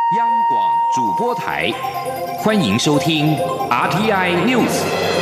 央广主播台，欢迎收听 RTI News。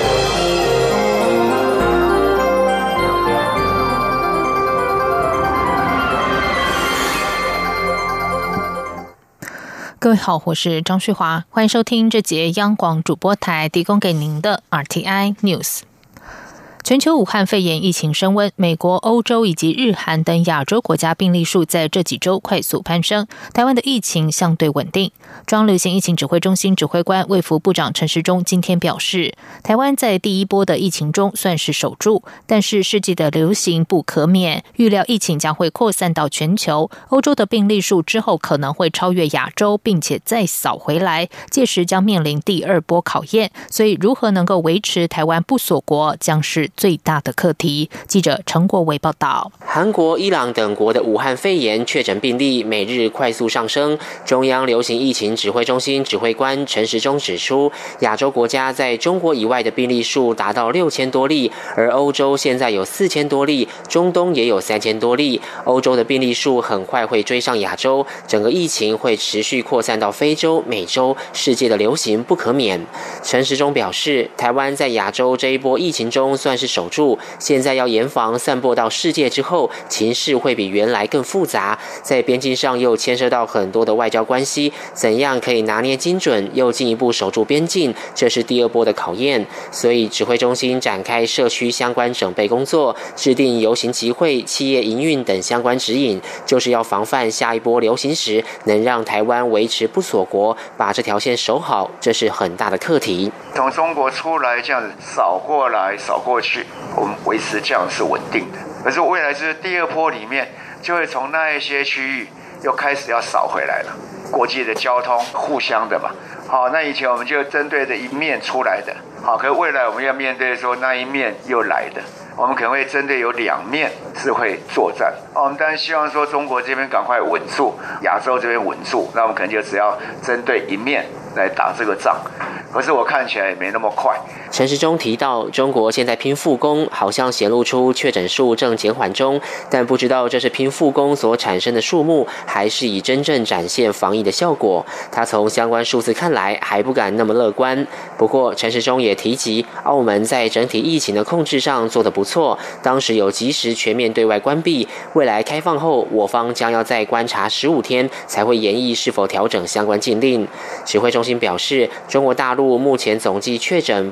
各位好，我是张旭华，欢迎收听这节央广主播台提供给您的 RTI News。全球武汉肺炎疫情升温，美国、欧洲以及日韩等亚洲国家病例数在这几周快速攀升，台湾的疫情相对稳定。中央流行疫情指挥中心指挥官卫福部长陈时中今天表示，台湾在第一波的疫情中算是守住，但是世纪的流行不可免，预料疫情将会扩散到全球，欧洲的病例数之后可能会超越亚洲，并且再扫回来，届时将面临第二波考验，所以如何能够维持台湾不锁国将是最大的课题。记者陈国维报道。 韩国、伊朗等国的武汉肺炎确诊病例每日快速上升，中央流行疫情指挥中心指挥官陈时中指出，亚洲国家在中国以外的病例数达到6000多例，而欧洲现在有4000多例，中东也有3000多例，欧洲的病例数很快会追上亚洲，整个疫情会持续扩散到非洲、美洲，世界的流行不可免。陈时中表示，台湾在亚洲这一波疫情中算是守住，现在要严防散播到世界之后，情势会比原来更复杂，在边境上又牵涉到很多的外交关系，怎样可以拿捏精准，又进一步守住边境，这是第二波的考验。所以指挥中心展开社区相关整备工作，制定游行集会、企业营运等相关指引，就是要防范下一波流行时能让台湾维持不锁国，把这条线守好，这是很大的课题。 从中国出来这样子扫过来扫过去，我们维持这样是稳定的。可是未来就是第二波里面，就会从那一些区域又开始要扫回来了。国际的交通互相的嘛，好，那以前我们就针对着一面出来的，好，可是未来我们要面对说那一面又来的，我们可能会针对有两面是会作战。我们当然希望说中国这边赶快稳住，亚洲这边稳住，那我们可能就只要针对一面来打这个仗。可是我看起来也没那么快。 陈时中提到，中国现在拼复工，好像显露出确诊数正减缓中，但不知道这是拼复工所产生的数目，还是以真正展现防疫的效果。他从相关数字看来，还不敢那么乐观。不过，陈时中也提及，澳门在整体疫情的控制上做得不错，当时有及时全面对外关闭，未来开放后，我方将要再观察15天，才会研议是否调整相关禁令。指挥中心表示，中国大陆目前总计确诊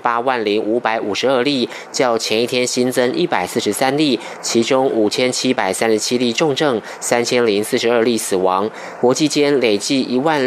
80552例，较前一天新增143例，其中5737例重症，3042例死亡。国际间累计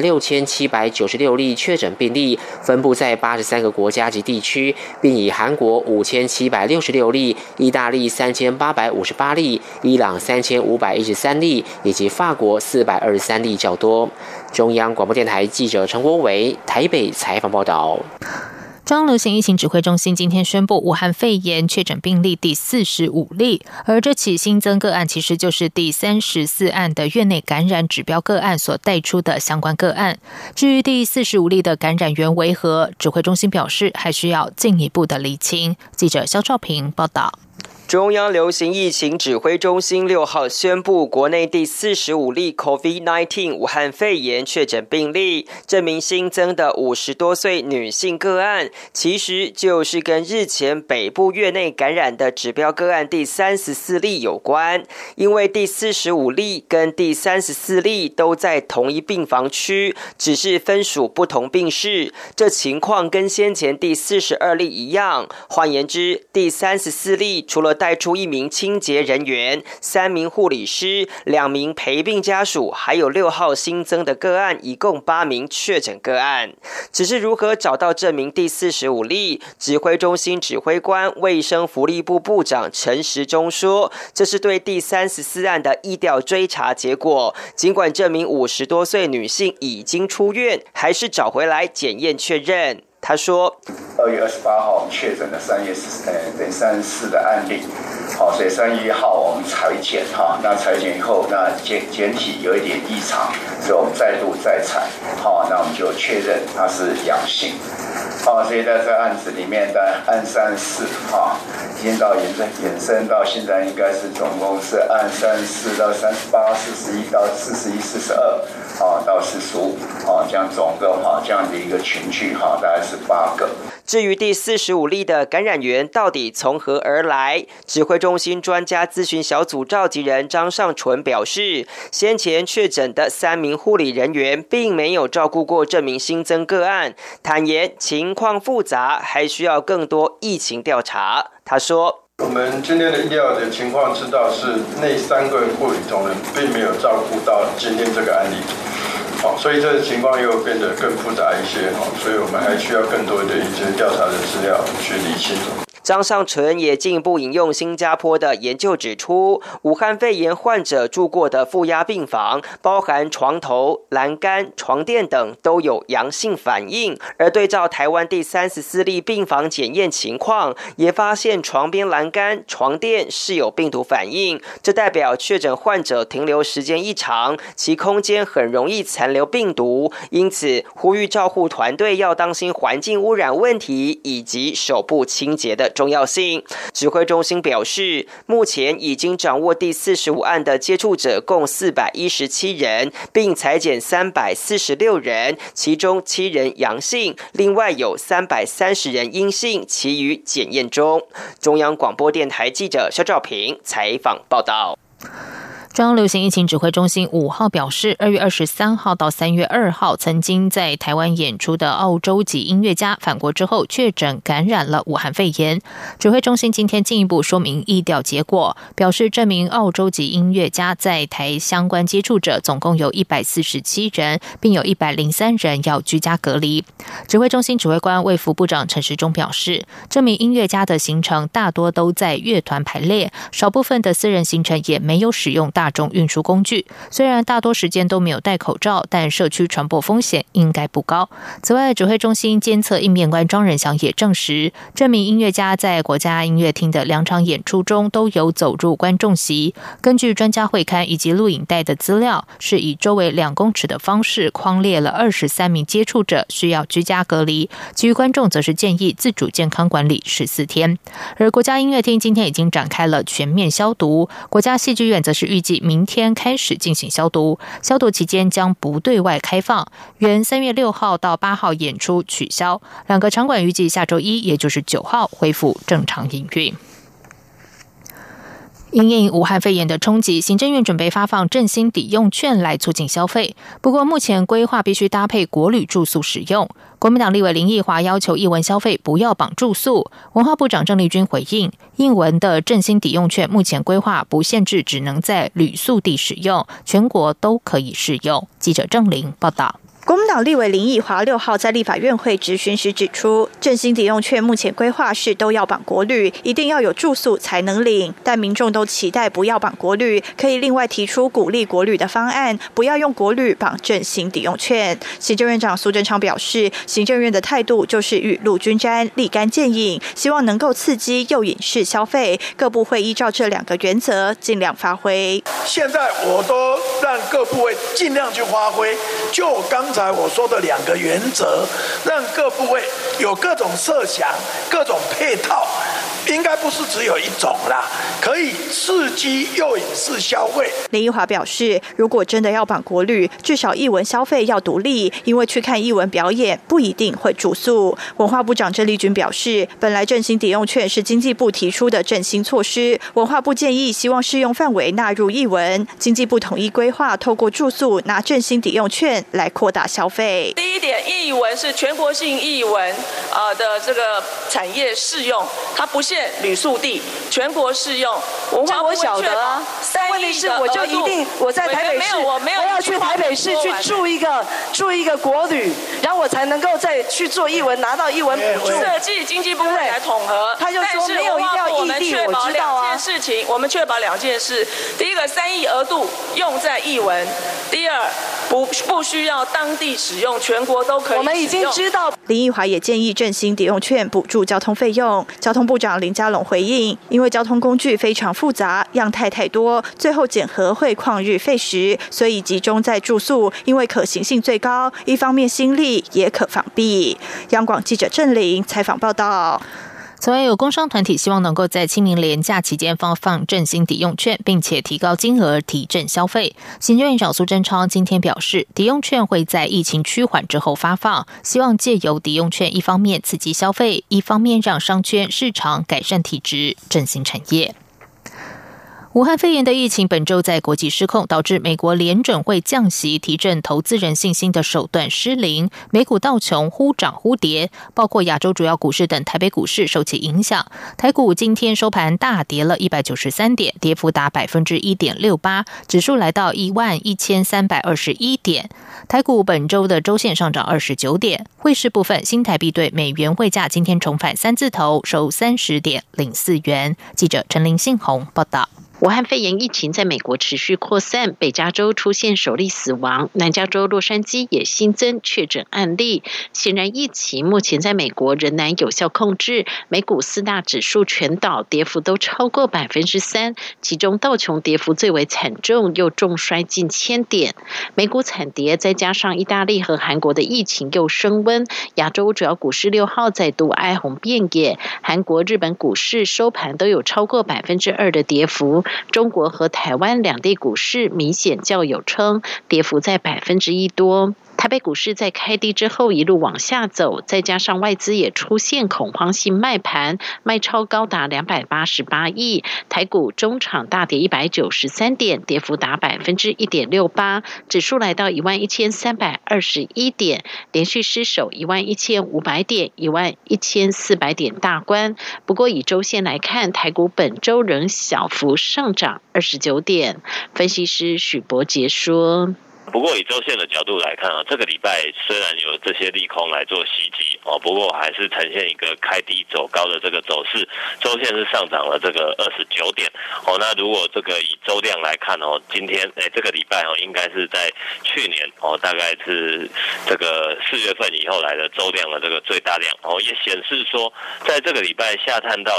16796例确诊病例，分布在83个国家及地区，并以韩国5766例、意大利3858例、伊朗3513例以及法国423例较多。中央广播电台记者陈国维台北采访报道。 中央流行疫情指挥中心今天宣布，武汉肺炎确诊病例第45例，而这起新增个案其实就是第34案的院内感染指标个案所带出的相关个案。至于第45例的感染源为何，指挥中心表示还需要进一步的厘清。记者肖兆平报道。 中央流行疫情指挥中心6号宣布，国内第45例 COVID-19 武汉肺炎确诊病例，这名新增的50多岁女性个案，其实就是跟日前北部院内感染的指标个案第34例有关。因为第45例跟第34例都在同一病房区，只是分属不同病室，这情况跟先前第42例一样。换言之，第34例除了带出1名清洁人员、3名护理师、2名陪病家属，还有6号新增的个案，一共8名确诊个案。只是如何找到这名第45例，指挥中心指挥官卫生福利部部长陈时中说，这是对第34案的疫调追查结果。尽管这名50多岁女性已经出院，还是找回来检验确认。他说 ，2月28号确诊的3月34的案例， 所以3月1号我们裁剪那裁剪以后，那检体有一点异常，所以我们再度再采那我们就确认它是阳性所以在这案子里面的案34已经到延伸到现在应该是总共是案34到38、41到41、42到45这样总共这样的一个群聚大概是8个。 至于第45例的感染源到底从何而来，指挥中心专家咨询小组召集人张尚淳表示，先前确诊的3名护理人员并没有照顾过这名新增个案，坦言情况复杂，还需要更多疫情调查。他说， 我们今天的医疗的情况知道是那3个护理同仁并没有照顾到今天这个案例所以这个情况又变得更复杂一些所以我们还需要更多的一些调查的资料去厘清。 张尚淳也进一步引用新加坡的研究指出，武汉肺炎患者住过的负压病房，包含床头、栏杆、床垫等都有阳性反应，而对照台湾第34例病房检验情况，也发现床边栏杆、床垫是有病毒反应，这代表确诊患者停留时间异常，其空间很容易残留病毒，因此呼吁照护团队要当心环境污染问题以及手部清洁的重要性。指挥中心表示，目前已经掌握第45案的接触者共417人，并采检346人，其中7人阳性，另外有330人阴性，其余检验中。中央广播电台记者肖兆平采访报道。 中央流行疫情指挥中心5号表示，2月23号到3月2号曾经在台湾演出的澳洲籍音乐家返国之后确诊感染了武汉肺炎。指挥中心今天进一步说明疫调结果，表示这名澳洲籍音乐家在台相关接触者总共有147人，并有103人要居家隔离。指挥中心指挥官卫福部长陈时中表示，这名音乐家的行程大多都在乐团排列，少部分的私人行程也没有使用大众运输工具，虽然大多时间都没有戴口罩，但社区传播风险应该不高。此外，指挥中心监测应变官庄仁祥也证实，这名音乐家在国家音乐厅的2场演出中都有走入观众席。根据专家会刊以及录影带的资料，是以周围2公尺的方式匡列了23名接触者需要居家隔离，其余观众则是建议自主健康管理14天。而国家音乐厅今天已经展开了全面消毒，国家戏剧院则是预计明天开始进行消毒，消毒期间将不对外开放，原3月6号到8号演出取消，2个场馆预计下周1，也就是9号恢复正常营运。因应武汉肺炎的冲击，行政院准备发放振兴抵用券来促进消费，不过目前规划必须搭配国旅住宿使用。国民党立委林奕华要求艺文消费不要绑住宿，文化部长郑丽君回应，艺文的振兴抵用券目前规划不限制只能在旅宿地使用，全国都可以适用。记者郑玲报道。 国民党立委林奕华6号在立法院会质询时指出，振兴抵用券目前规划是都要绑国旅，一定要有住宿才能领，但民众都期待不要绑国旅，可以另外提出鼓励国旅的方案，不要用国旅绑振兴抵用券。行政院长苏贞昌表示，行政院的态度就是雨露均沾，立竿见影，希望能够刺激诱引式消费，各部会依照这2个原则尽量发挥。 现在我都让各部会尽量去发挥，就刚才我说的2个原则，让各部会有各种设想、各种配套，应该不是只有一种啦，可以刺激诱引式消费。 林奕华表示，如果真的要绑国旅，至少艺文消费要独立，因为去看艺文表演不一定会住宿。文化部长郑丽君表示，本来振兴抵用券是经济部提出的振兴措施，文化部建议希望适用范围纳入艺文，经济部统一规划，透过住宿拿振兴抵用券来扩大消费。 第一点，艺文是全国性艺文的这个产业适用，它不限旅宿地，全国适用。 文化我晓得啊，但问题是我就一定我在台北市，我要去台北市去住一个国旅，然后我才能够再去做艺文，拿到艺文补助。 设计经济部会来统合， 他就说没有一定要异地，我知道啊。 我们确保2件事，第一个3亿额度用在艺文，第二不需要当地使用，全国都可以使用。 我们已经知道。 林奕华也建议振兴抵用券补助交通费用。交通部长林佳龙回应，因为交通工具非常复杂，样态太多，最后检核会旷日费时，所以集中在住宿，因为可行性最高，一方面心力也可防弊。央广记者郑玲采访报道。 此外，有工商团体希望能够在清明连假期间发放振兴抵用券，并且提高金额提振消费。行政院长苏贞昌今天表示，抵用券会在疫情趋缓之后发放，希望借由抵用券一方面刺激消费，一方面让商圈市场改善体质，振兴产业。武汉肺炎的疫情本周在国际失控，导致美国联准会降息提振投资人信心的手段失灵，美股道琼忽涨忽跌，包括亚洲主要股市等台北股市受其影响。台股今天收盘大跌了193点，跌幅达 1.68%， 指数来到11321点。台股本周的周线上涨29点。汇市部分，新台币对美元汇价今天重返三字头，收30.04元。记者陈林信宏报道。 武汉肺炎疫情在美国持续扩散，北加州出现首例死亡，南加州洛杉矶也新增确诊案例。显然，疫情目前在美国仍难有效控制，美股4大指数全倒，跌幅都超过 3%， 其中道琼跌幅最为惨重，又重摔近1000点。美股惨跌，再加上意大利和韩国的疫情又升温，亚洲主要股市6号再度哀鸿遍野，韩国、日本股市收盘都有超过 2% 的跌幅。中国和台湾两地股市明显较有撑，跌幅在 1% 多。台北股市在开低之后一路往下走，再加上外资也出现恐慌性卖盘，卖超高达288亿，台股中场大跌193点，跌幅达 1.68%， 指数来到11321点，连续失守11500点、11400点大关。不过以周线来看，台股本周仍小幅上涨29点。分析师许伯杰说， 不过以周线的角度来看这个礼拜虽然有这些利空来做袭击不过还是呈现一个开低走高的这个走势，周线是上涨了这个29点那如果这个以周量来看今天这个礼拜应该是在去年大概是这个4月份以后来的周量的这个最大量也显示说，在这个礼拜下探到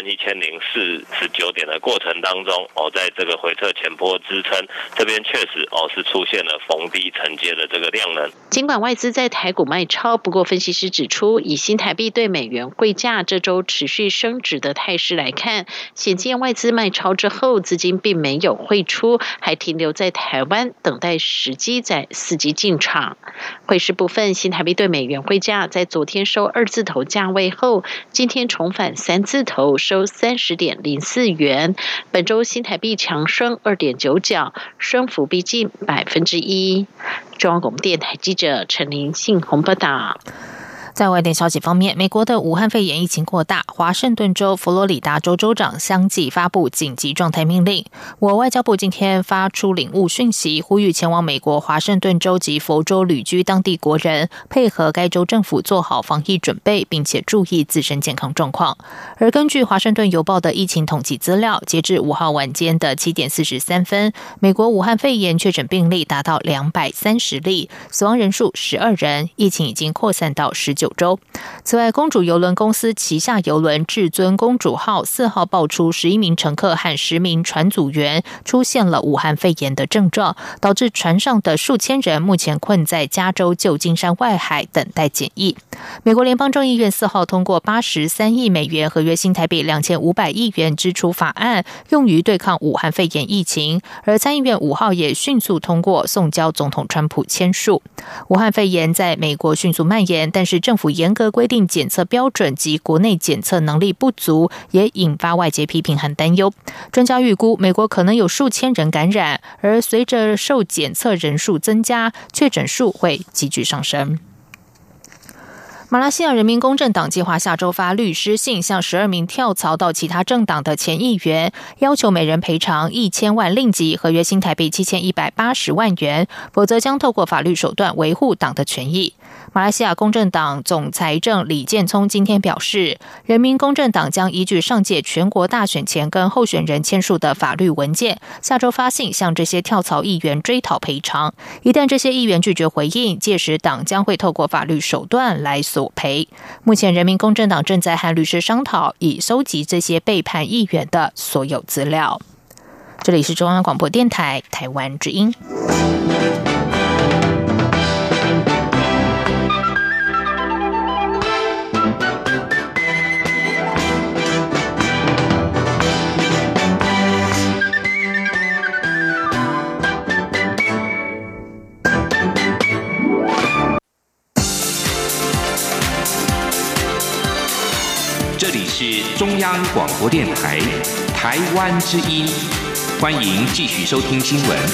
11049点的过程当中在这个回撤前波支撑这边确实是出现了逢低承接的这个量能。 尽管外资在台股卖超，不过分析师指出，以新台币对美元汇价这周持续升值的态势来看，显见外资卖超之后，资金并没有汇出，还停留在台湾，等待时机再伺机进场。汇市部分，新台币对美元汇价在昨天收2字头价位后，今天重返3字头，收30.04元。本周新台币强升2.9角，升幅逼近1%。中央广播电台记者陈林信宏报道。 在外电消息方面，美国的武汉肺炎疫情扩大，华盛顿州、佛罗里达州州长相继发布紧急状态命令。我外交部今天发出领务讯息，呼吁前往美国华盛顿州及佛州旅居当地国人配合该州政府做好防疫准备，并且注意自身健康状况。而根据华盛顿邮报的疫情统计资料，截至5号晚间的7点43分，美国武汉肺炎确诊病例达到230例，死亡人数12人，疫情已经扩散到19州。此外，公主邮轮公司旗下邮轮至尊公主号4号爆出11名乘客和10名船组员出现了武汉肺炎的症状，导致船上的数千人目前困在加州旧金山外海等待检疫。美国联邦众议院4号通过83亿美元合约新台币2500亿元支出法案，用于对抗武汉肺炎疫情，而参议院5号也迅速通过，送交总统川普签署。武汉肺炎在美国迅速蔓延，但是政府严格规定检测标准及国内检测能力不足，也引发外界批评和担忧。专家预估，美国可能有数千人感染，而随着受检测人数增加，确诊数会急剧上升。 马来西亚人民公正党计划下周发律师信，向12名跳槽到其他政党的前议员，要求每人赔偿1000万令吉，合约新台币7180万元，否则将透过法律手段维护党的权益。马来西亚公正党总财政李建聪今天表示，人民公正党将依据上届全国大选前跟候选人签署的法律文件，下周发信向这些跳槽议员追讨赔偿。一旦这些议员拒绝回应，届时党将会透过法律手段来索赔。目前人民公正党正在和律师商讨，以搜集这些被判议员的所有资料。这里是中央广播电台台湾之音。 这里是中央广播电台台湾之音，欢迎继续收听新闻。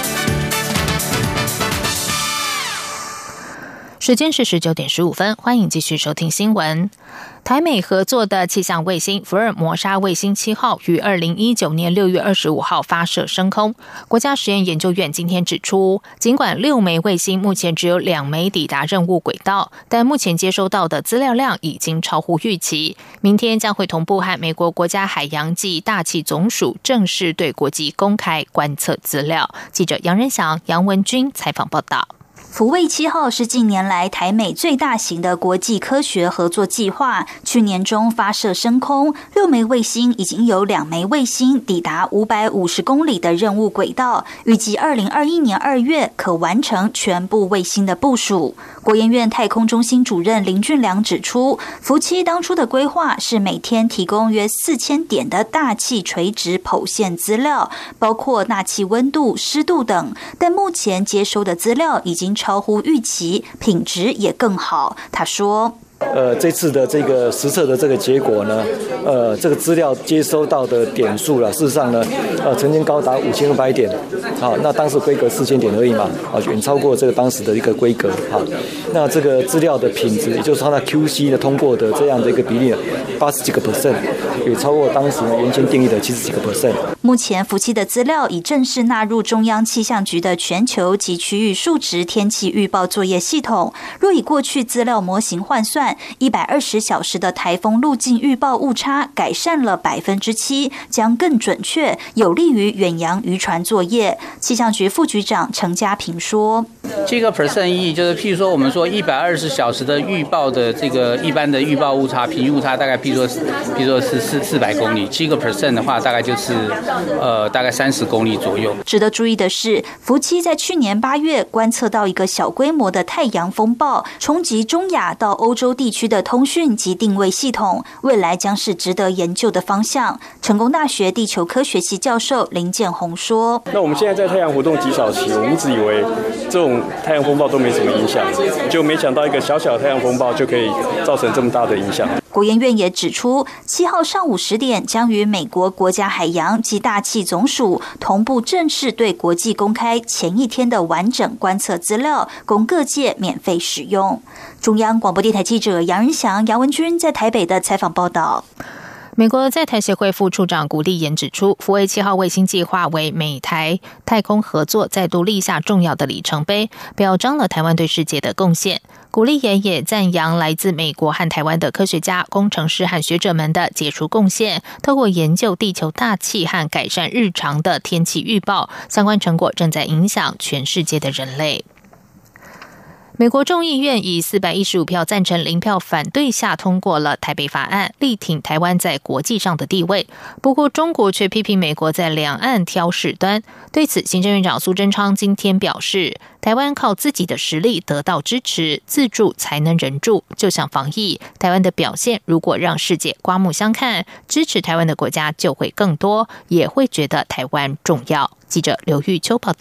时间是19点15分，欢迎继续收听新闻。台美合作的气象卫星福尔摩沙卫星7号于2019年6月25号发射升空。国家实验研究院今天指出，尽管6枚卫星目前只有2枚抵达任务轨道，但目前接收到的资料量已经超乎预期。明天将会同步和美国国家海洋暨大气总署正式对国际公开观测资料。记者杨仁祥、杨文君采访报道。 福卫7号是近年来台美最大型的国际科学合作计划，去年中发射升空，6枚卫星已经有2枚卫星抵达550公里的任务轨道，预计2021年2月可完成全部卫星的部署。国研院太空中心主任林俊良指出，福7当初的规划是每天提供约4000点的大气垂直剖线资料，包括大气温度、湿度等，但目前接收的资料已经超乎预期，品质也更好。他说， 这次的这个实测的这个结果呢，这个资料接收到的点数了，事实上呢，曾经高达5200点，好，那当时规格4000点而已嘛，远超过这个当时的一个规格，好，那这个资料的品质，也就是它的 QC 的通过的这样的一个比例，80几个%，也超过当时原先定义的70几个%。 目前福7的资料已正式纳入中央气象局的全球及区域数值天气预报作业系统。若以过去资料模型换算，120小时的台风路径预报误差改善了7%，将更准确，有利于远洋渔船作业。气象局副局长陈家平说 ，7%意义就是譬如说我们说120小时的预报的这个一般的预报误差，平均误差大概譬如说是400公里，7% 的话大概就是大概30公里左右。 值得注意的是，福7在去年8月观测到一个小规模的太阳风暴，冲击中亚到欧洲地区的通讯及定位系统，未来将是值得研究的方向。成功大学地球科学系教授林建宏说， 那我们现在在太阳活动极少期，我们一直以为这种太阳风暴都没什么影响，就没想到一个小小的太阳风暴就可以造成这么大的影响。 国研院也指出，7号上午10点将与美国国家海洋及大气总署同步正式对国际公开前一天的完整观测资料，供各界免费使用。中央广播电台记者杨仁祥、杨文君在台北的采访报道。 美国在台协会副处长古立言指出，福卫7号卫星计划为美台太空合作再度立下重要的里程碑，表彰了台湾对世界的贡献。古立言也赞扬来自美国和台湾的科学家、工程师和学者们的杰出贡献，透过研究地球大气和改善日常的天气预报，相关成果正在影响全世界的人类。美国众议院以415票赞成0票反对下通过了台北法案，力挺台湾在国际上的地位。不过中国却批评美国在两岸挑事端。对此，行政院长苏贞昌今天表示，台湾靠自己的实力得到支持，自助才能人助。就像防疫，台湾的表现如果让世界刮目相看，支持台湾的国家就会更多，也会觉得台湾重要。记者刘玉秋报道。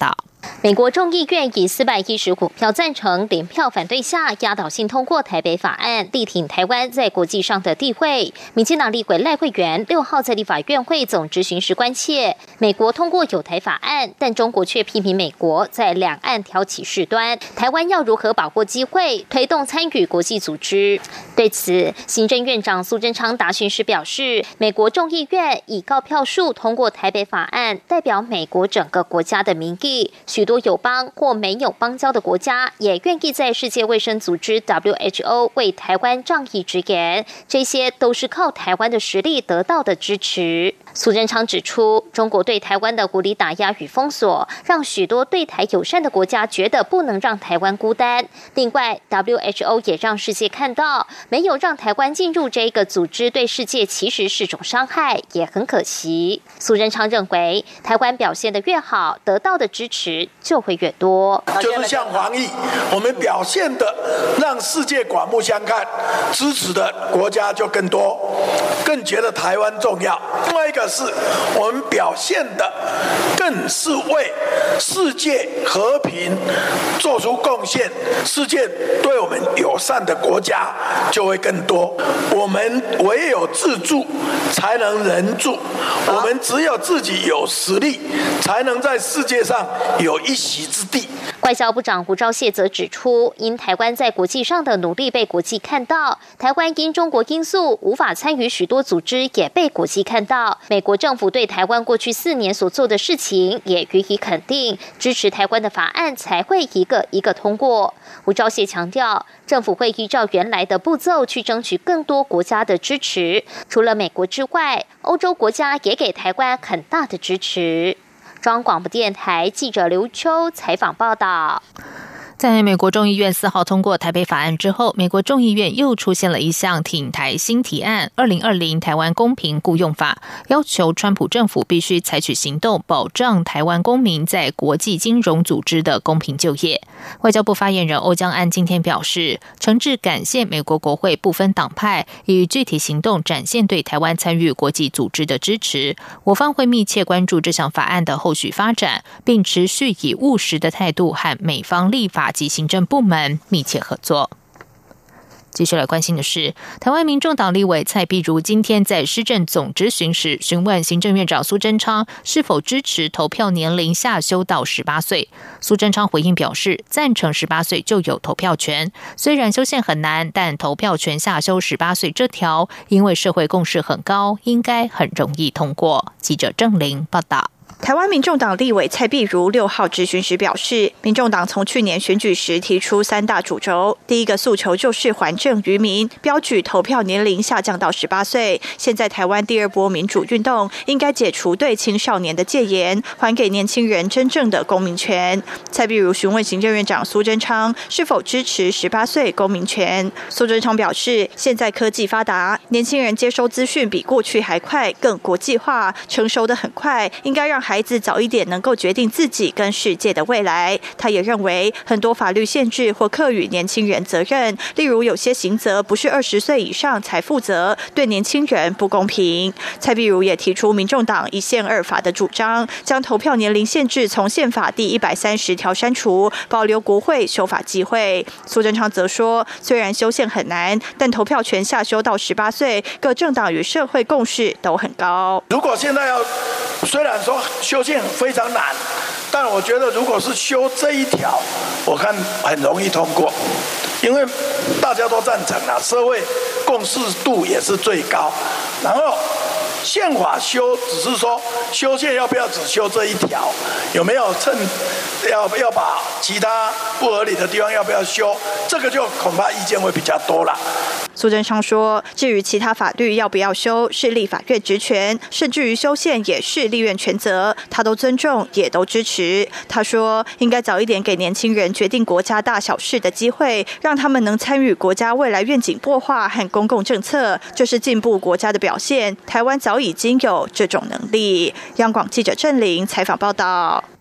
美国众议院以415票赞成、0票反对下，压倒性通过台北法案，力挺台湾在国际上的地位。民进党立委赖慧媛6号在立法院会总质询时关切，美国通过有台法案，但中国却批评美国在两岸挑起事端，台湾要如何把握机会，推动参与国际组织？对此，行政院长苏贞昌答询时表示，美国众议院以高票数通过台北法案，代表美国整个国家的民意。许多友邦或没有邦交的国家也愿意在世界卫生组织 WHO 为台湾仗义直言，这些都是靠台湾的实力得到的支持。苏贞昌指出，中国对台湾的无理打压与封锁，让许多对台友善的国家觉得不能让台湾孤单。另外 WHO 也让世界看到，没有让台湾进入这个组织对世界其实是种伤害，也很可惜。苏贞昌认为，台湾表现得越好，得到的支持就会越多。 就是像防疫，我们表现的让世界刮目相看，支持的国家就更多，更觉得台湾重要。另外一个是我们表现的更是为世界和平做出贡献，世界对我们友善的国家就会更多。我们唯有自助才能人助，我们只有自己有实力，才能在世界上有一席之地。 外交部长胡昭燮则指出，因台湾在国际上的努力被国际看到，台湾因中国因素无法参与许多组织也被国际看到，美国政府对台湾过去4年所做的事情也予以肯定，支持台湾的法案才会一个一个通过。胡昭燮强调，政府会依照原来的步骤去争取更多国家的支持，除了美国之外，欧洲国家也给台湾很大的支持。中央广播电台记者刘秋采访报道。 在美国众议院4号通过台北法案之后，美国众议院又出现了一项挺台新提案2020台湾公平雇用法，要求川普政府必须采取行动，保障台湾公民在国际金融组织的公平就业。外交部发言人欧江安今天表示，诚挚感谢美国国会不分党派以具体行动展现对台湾参与国际组织的支持，我方会密切关注这项法案的后续发展，并持续以务实的态度和美方立法及行政部门密切合作。继续来关心的是，台湾民众党立委蔡碧如今天在施政总质询时询问行政院长苏贞昌是否支持投票年龄下修到18岁。苏贞昌回应表示，赞成18岁就有投票权，虽然修宪很难，但投票权下修18岁这条，因为社会共识很高，应该很容易通过。记者郑玲报道。 台湾民众党立委蔡碧如6号质询时表示，民众党从去年选举时提出3大主轴，第一个诉求就是还政于民，标举投票年龄下降到18岁。现在台湾第2波民主运动应该解除对青少年的戒严，还给年轻人真正的公民权。蔡碧如询问行政院长苏贞昌是否支持18岁公民权。苏贞昌表示，现在科技发达，年轻人接收资讯比过去还快，更国际化，成熟得很快，应该让孩子早一点能够决定自己跟世界的未来。他也认为很多法律限制或课予年轻人责任，例如有些刑责不是20岁以上才负责，对年轻人不公平。蔡碧如也提出民众党1宪2法的主张，将投票年龄限制从宪法第130条删除，保留国会修法机会。苏贞昌则说，虽然修宪很难，但投票权下修到18岁，各政党与社会共识都很高。 如果现在虽然说修宪非常难，但我觉得如果是修这一条，我看很容易通过，因为大家都赞成了，社会共识度也是最高。然后宪法修只是说修宪要不要只修这一条，有没有趁要把其他不合理的地方要不要修，这个就恐怕意见会比较多了。 苏贞昌说，至于其他法律要不要修是立法院职权，甚至于修宪也是立院权责，他都尊重也都支持。他说，应该早一点给年轻人决定国家大小事的机会，让他们能参与国家未来愿景擘画和公共政策，这是进步国家的表现。台湾早已经有这种能力。央广记者郑玲采访报道。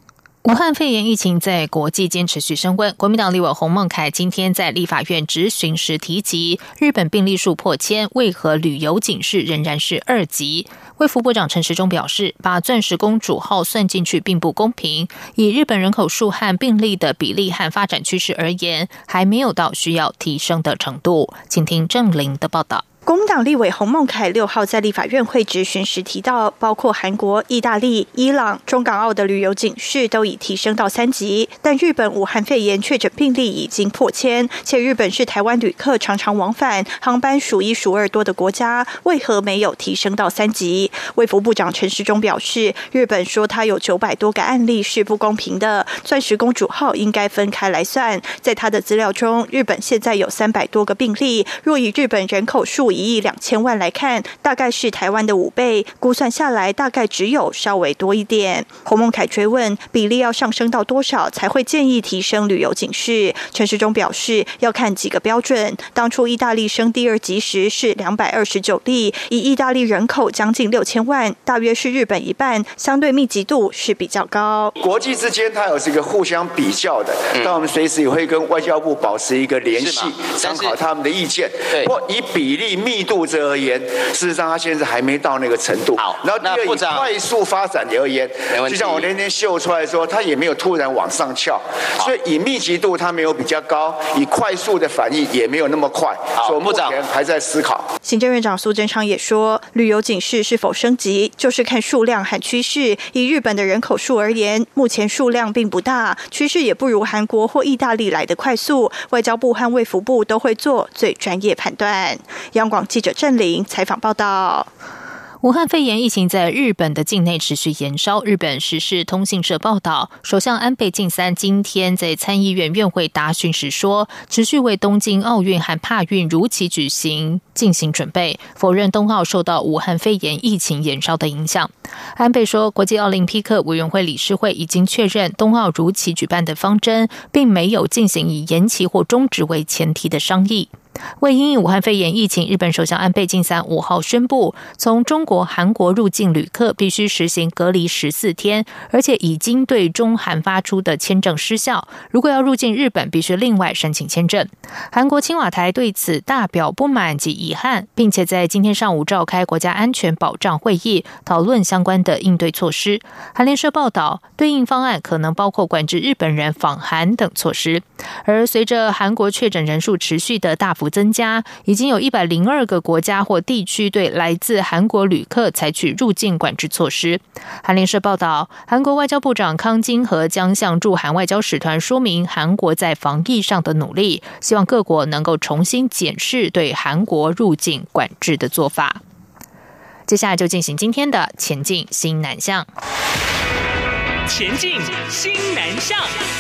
武汉肺炎疫情在国际间持续升温，国民党立委洪孟凯今天在立法院质询时提及，日本病例数破千，为何旅游警示仍然是2级？卫福部长陈时中表示，把钻石公主号算进去并不公平，以日本人口数和病例的比例和发展趋势而言，还没有到需要提升的程度。请听郑玲的报道。 国民党立委洪孟凯6号在立法院会质询时提到，包括韩国、意大利、伊朗、中港澳的旅游警示都已提升到3级，但日本武汉肺炎确诊病例已经破千，且日本是台湾旅客常常往返、航班数1数2多的国家，为何没有提升到3级？卫福部长陈时中表示，日本说他有900多个案例是不公平的，钻石公主号应该分开来算。在他的资料中，日本现在有300多个病例，若以日本人口数1亿2千万来看，大概是台湾的5倍，估算下来大概只有稍微多一点。洪孟凯追问比例要上升到多少才会建议提升旅游警示，陈时中表示要看几个标准。当初意大利升第2级时是229例，以意大利人口将近6000万，大约是日本1半，相对密集度是比较高。 国际之间它有这个互相比较的，但我们随时也会跟外交部保持一个联系，参考他们的意见。不过以比例密度而言，事实上它现在还没到那个程度。好，然后第二，以快速发展而言，就像我那天秀出来说，它也没有突然往上翘，所以以密集度它没有比较高，以快速的反应也没有那么快，所以目前还在思考。 行政院长苏贞昌也说，旅游警示是否升级，就是看数量和趋势。以日本的人口数而言，目前数量并不大，趋势也不如韩国或意大利来的快速。外交部和卫福部都会做最专业判断。央广记者郑玲采访报道。 武汉肺炎疫情在日本的境内持续延烧。日本时事通信社报道，首相安倍晋三今天在参议院院会答询时说，持续为东京奥运和帕运如期举行进行准备，否认冬奥受到武汉肺炎疫情延烧的影响。安倍说，国际奥林匹克委员会理事会已经确认冬奥如期举办的方针，并没有进行以延期或终止为前提的商议。为因应武汉肺炎疫情，日本首相安倍晋三5号宣布，从中国、韩国入境旅客必须实行隔离14天，而且已经对中韩发出的签证失效。如果要入境日本，必须另外申请签证。韩国青瓦台对此大表不满及遗憾，并且在今天上午召开国家安全保障会议，讨论相关的应对措施。韩联社报道，对应方案可能包括管制日本人访韩等措施。而随着韩国确诊人数持续的大幅增加，已经有102个国家或地区对来自韩国旅客采取入境管制措施。韩联社报道，韩国外交部长康京和将向驻韩外交使团说明韩国在防疫上的努力，希望各国能够重新检视对韩国入境管制的做法。接下来就进行今天的前进新南向。 前进新南向。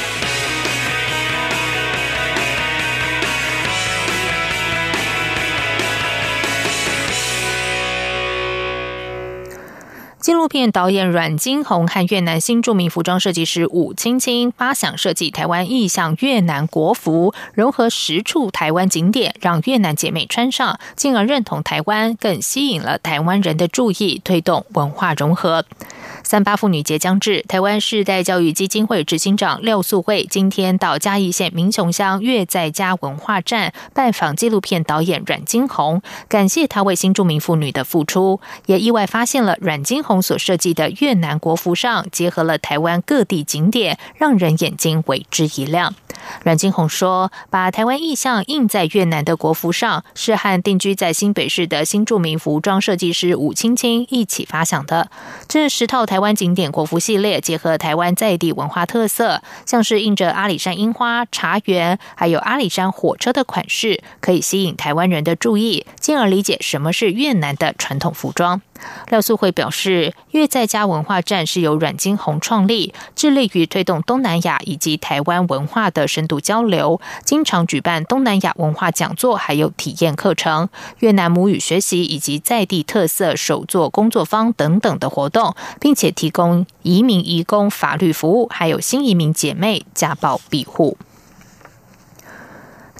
纪录片导演阮金红和越南新著名服装设计师武青青发想设计台湾意象越南国服，融合10处台湾景点，让越南姐妹穿上，进而认同台湾，更吸引了台湾人的注意，推动文化融合。38妇女节将至，台湾世代教育基金会执行长廖素慧今天到嘉义县民雄乡越在家文化站拜访纪录片导演阮金红，感谢他为新住民妇女的付出，也意外发现了阮金红所设计的越南国服上结合了台湾各地景点，让人眼睛为之一亮。阮金红说，把台湾意象印在越南的国服上，是和定居在新北市的新著名服装设计师武青青一起发想的。这10套台湾景点国服系列结合台湾在地文化特色，像是印着阿里山樱花、茶园还有阿里山火车的款式，可以吸引台湾人的注意，进而理解什么是越南的传统服装。廖素慧表示，越在家文化站是由阮金红创立，致力于推动东南亚以及台湾文化的深度交流，经常举办东南亚文化讲座还有体验课程、越南母语学习以及在地特色手作工作坊等等的活动，并且提供移民移工法律服务，还有新移民姐妹家暴庇护。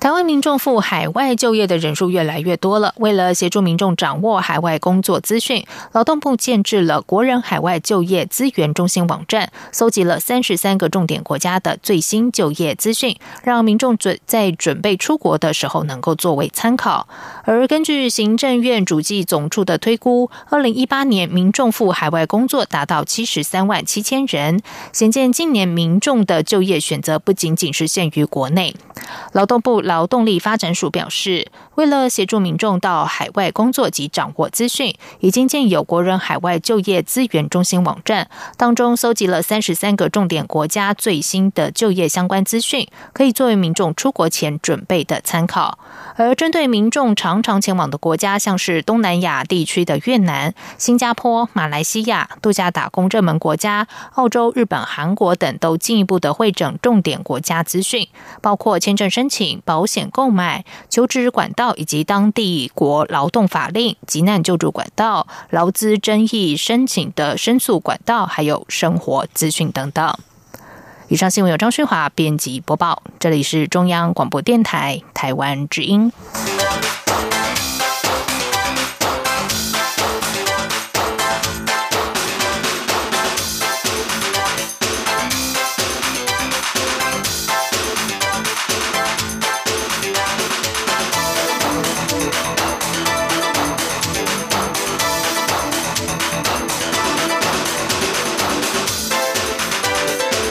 台湾民众赴海外就业的人数越来越多了。为了协助民众掌握海外工作资讯，劳动部建制了国人海外就业资源中心网站，搜集了33个重点国家的最新就业资讯，让民众在准备出国的时候能够作为参考。而根据行政院主计总处的推估，2018年民众赴海外工作达到73万7千人，显见今年民众的就业选择不仅仅是限于国内。劳动部劳动力发展署表示，为了协助民众到海外工作及掌握资讯，已经建有国人海外就业资源中心网站，当中搜集了33个重点国家最新的就业相关资讯，可以作为民众出国前准备的参考。而针对民众常常前往的国家，像是东南亚地区的越南、新加坡、马来西亚、度假打工热门国家、澳洲、日本、韩国等，都进一步的汇整重点国家资讯，包括签证申请、保险购买、求职管道以及当地国劳动法令、急难救助管道、劳资争议申请的申诉管道，还有生活资讯等等。以上新闻由张勋华编辑播报，这里是中央广播电台台湾之音。